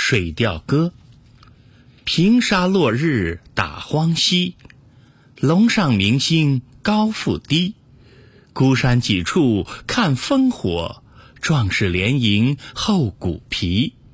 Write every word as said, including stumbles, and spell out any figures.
水调歌》：平沙落日打荒溪，龙上明星高复低。孤山几处看烽火，壮士连营后骨皮。